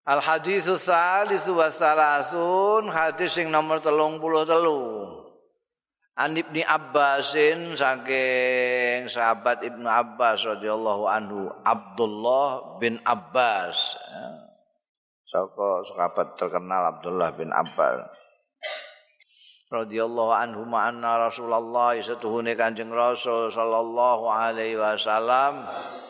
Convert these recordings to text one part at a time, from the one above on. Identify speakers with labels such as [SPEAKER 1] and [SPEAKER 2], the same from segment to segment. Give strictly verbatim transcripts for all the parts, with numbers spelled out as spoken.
[SPEAKER 1] Al haditsu tsalitsu wassalasun hadis sing nomor telung puluh telu. An Ibnu Abbasin saking sahabat Ibnu Abbas radhiyallahu anhu Abdullah bin Abbas. Saka sahabat terkenal Abdullah bin Abbas radhiyallahu anhu anna Rasulullah satuhune Kanjeng Rasul sallallahu alaihi wasallam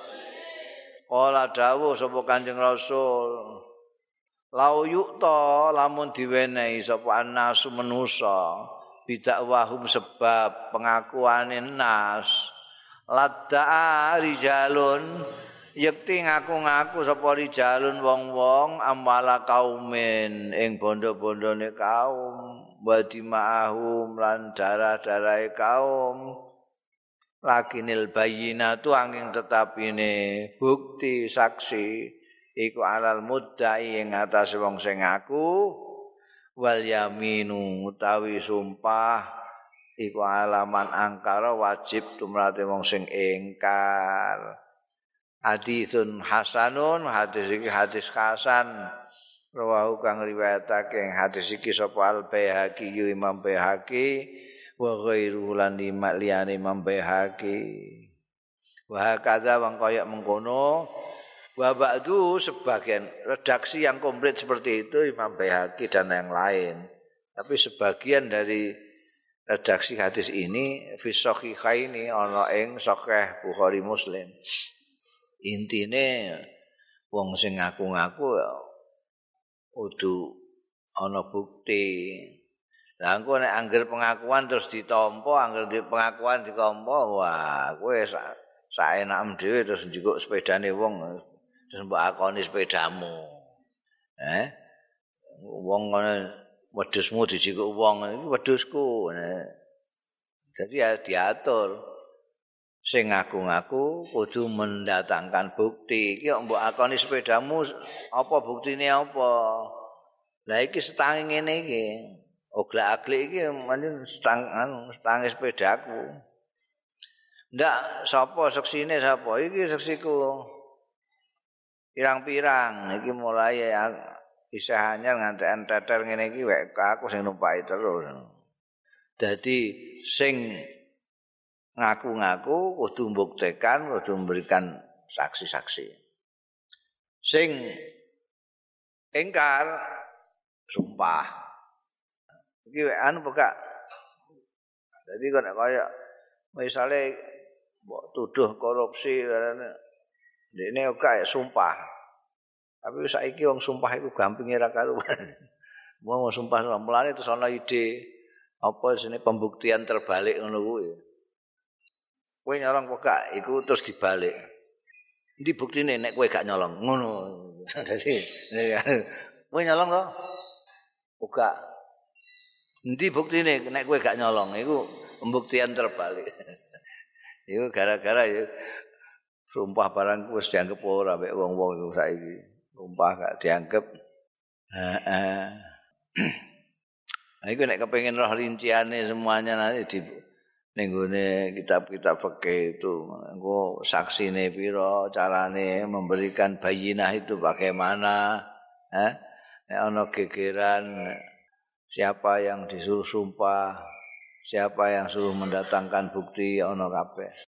[SPEAKER 1] qala dawuh sapa Kanjeng Rasul lau yukta lamun diwenehi sapa annasu manusa bidakwahum sebab pengakuane nas ladda'a rijalun yekti ngaku-ngaku sapa rijalun wong-wong amwala kaumin ing bondo-bondone kaum wadi ma'ahum lan darah-darahe kaum lakinil bayyinatu angin tetapine bukti saksi iku alal muddai ing atase wong sing ngaku wal yaminu utawi sumpah iku alaman angkara wajib tumrate wong sing ingkar. Hadisun hasanun hadis iki hadis hasan rawahu kang riwayatake hadis iki sapa Al Baihaqi Imam Baihaqi wa ghairuhu lan liyane Imam Baihaqi wa kadza wong kaya mengkono wa ba'du sebagian redaksi yang komplit seperti itu Imam Baihaqi dan yang lain. Tapi sebagian dari redaksi hadis ini fi sahihaini ana ing Sahih Bukhari Muslim. Intine wong sing ngaku-ngaku kudu ana bukti. Lah engko nek angger pengakuan terus ditampa, angger di pengakuan ditampa, wah kowe saenakmu dhewe terus njikuk sepedane wong terus mbok akoni sepedamu. Eh? Wong ngono wedhusmu dijikuk wong iki wedhusku. Jadi ya diatur. Sing ngaku-ngaku kudu mendatangkan bukti. Iki mbok akoni sepedamu apa buktine apa? Lah iki setangi ngene iki. Oglak-aglik iki pancen setang anu setangi sepedaku. Ndak sapa seksine sapa? Iki seksiku. Pirang-pirang iki mulai isih anyar nganti enteter ngene iki wek aku sing numpaki terus. Dadi sing ngaku-ngaku kudu mbuktikan, kudu memberikan saksi-saksi. Sing ingkar sumpah. Iki wek anu pekak. Dadi kok nek kaya misale mbok tuduh korupsi karena dene kok sumpah. Tapi saiki wong sumpah iku gampinge ra karuan. Mau sumpah mulane terus ana ide apa jenenge pembuktian terbalik ngono kuwi. Kowe nyolong kok gak iku terus dibalik. Endi buktine nek kowe gak nyolong? Ngono. Dadi kowe nyolong to? Ora. Endi buktine nek kowe gak nyolong? Iku pembuktian terbalik. Iku gara-gara ya sumpah barang wis dianggep ora mek wong-wong iku saiki. Sumpah gak dianggep. Heeh. Nah, iku nek kepengin roh rinciane semuanya nanti di ning gone kitab-kitab fikih itu engko saksine pira, carane memberikan bayinah itu bagaimana, eh? Nek ana gegeran siapa yang disuruh sumpah, siapa yang suruh mendatangkan bukti ana kabeh.